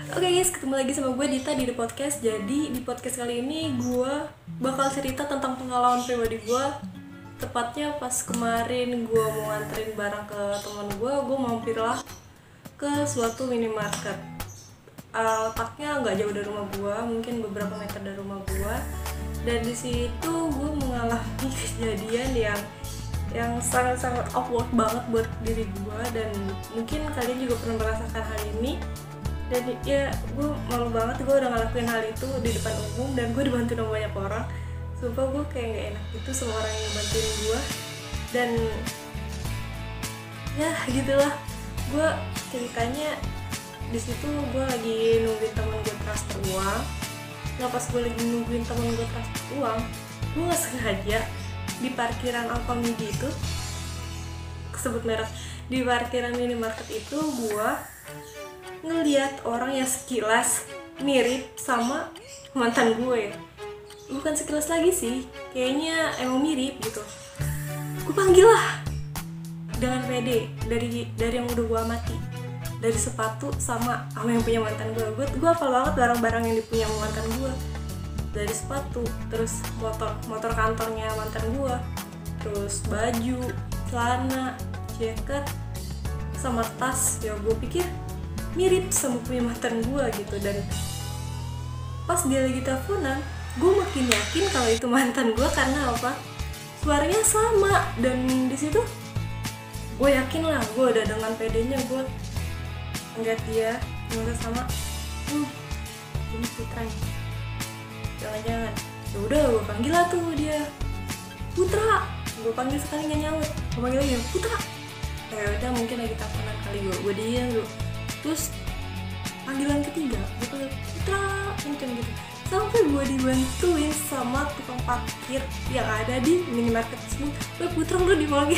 Oke guys, ketemu lagi sama gue Dita di The Podcast. Jadi di podcast kali ini gue bakal cerita tentang pengalaman pribadi gue. Tepatnya pas kemarin gue mau nganterin barang ke teman gue mampirlah ke suatu minimarket. Letaknya nggak jauh dari rumah gue, mungkin beberapa meter dari rumah gue. Dan di situ gue mengalami kejadian yang sangat-sangat awkward banget buat diri gue, dan mungkin kalian juga pernah merasakan hal ini. Dan ya gue malu banget, gue udah ngelakuin hal itu di depan umum dan gue dibantuin sama banyak orang. Sumpah gue kayak gak enak gitu sama orang yang bantuin gue. Dan ya gitulah, gue ceritanya di situ gue lagi nungguin temen gue transfer uang. Nah pas gue lagi nungguin temen gue transfer uang, gue gak sengaja di parkiran Alfamidi itu, kesebut merek, di parkiran minimarket itu gue ngeliat orang yang sekilas mirip sama mantan gue. Bukan sekilas lagi sih, kayaknya emang mirip gitu. Gue panggil lah dengan pede dari yang udah gue amati, dari sepatu sama yang punya mantan gue. Gue hafal banget barang-barang yang dipunya mantan gue, dari sepatu, terus motor kantornya mantan gue, terus baju, celana, jaket, sama tas. Ya gue pikir mirip sama punya mantan gue gitu. Dan pas dia lagi teleponan, gue makin yakin kalau itu mantan gue. Karena apa? Suaranya sama. Dan di situ gue yakin lah, gue udah dengan pedenya gue ngeliat dia ngeliat sama ini Putra nih, jangan-jangan. Ya udah gue panggil lah tuh dia, Putra. Gue panggil sekali nggak nyaut, gue panggil lagi, Putra. Ya udah mungkin lagi teleponan kali, gue diam dulu. Terus panggilan ketiga, gue panggil Putra kenceng gitu, sampai gue dibantuin sama tukang parkir yang ada di minimarket tersebut. Putra lu dipanggil.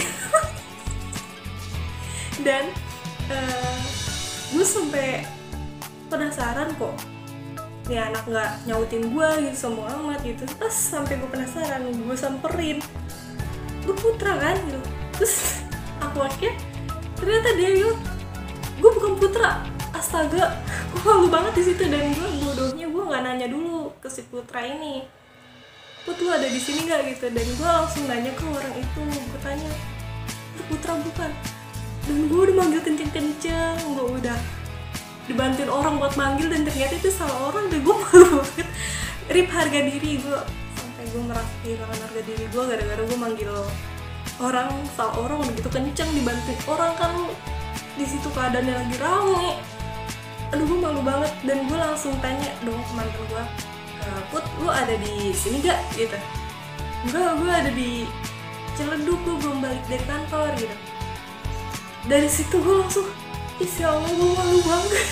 Dan gue sampai penasaran kok nih anak nggak nyautin gue gitu sama amat gitu. Pas sampai gue penasaran, gue samperin, lu Putra kan gitu. Terus aku akhirnya ternyata dia bilang, gue bukan Putra. Astaga, gue malu banget di situ. Dan gue bodohnya gue nggak nanya dulu ke si Putra ini, Put lu ada di sini nggak gitu. Dan gue langsung nanya ke orang itu, gue tanya, Putra bukan? Dan gue udah manggil kenceng-kenceng, gue udah dibantuin orang buat manggil, dan ternyata itu salah orang. Dan gue malu banget, rip harga diri gue, sampai gue merasa kehilangan harga diri gue gara-gara gue manggil orang, salah orang udah gitu kenceng dibantuin orang. Kan di situ keadaannya lagi rame. Aduh gue malu banget. Dan gue langsung tanya dong ke mantan gue, Put lu ada di sini gak gitu. Enggak, gue ada di Ciledug, gue belum balik dari kantor gitu. Dari situ gue langsung, ya Allah gue malu banget.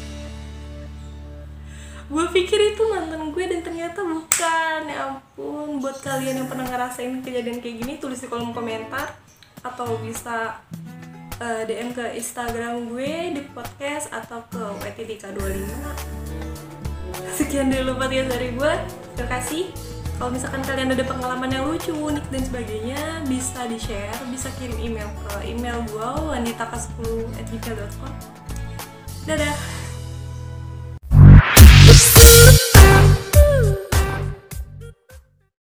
Gue pikir itu mantan gue dan ternyata bukan. Ya ampun. Buat kalian yang pernah ngerasain kejadian kayak gini, tulis di kolom komentar atau bisa DM ke Instagram gue di podcast atau ke WTDK25. Sekian dulu podcast dari gue. Terima kasih. Kalau misalkan kalian ada pengalaman yang lucu, unik dan sebagainya, bisa di-share, bisa kirim email ke email gue wanditaka10@gmail.com. Dadah.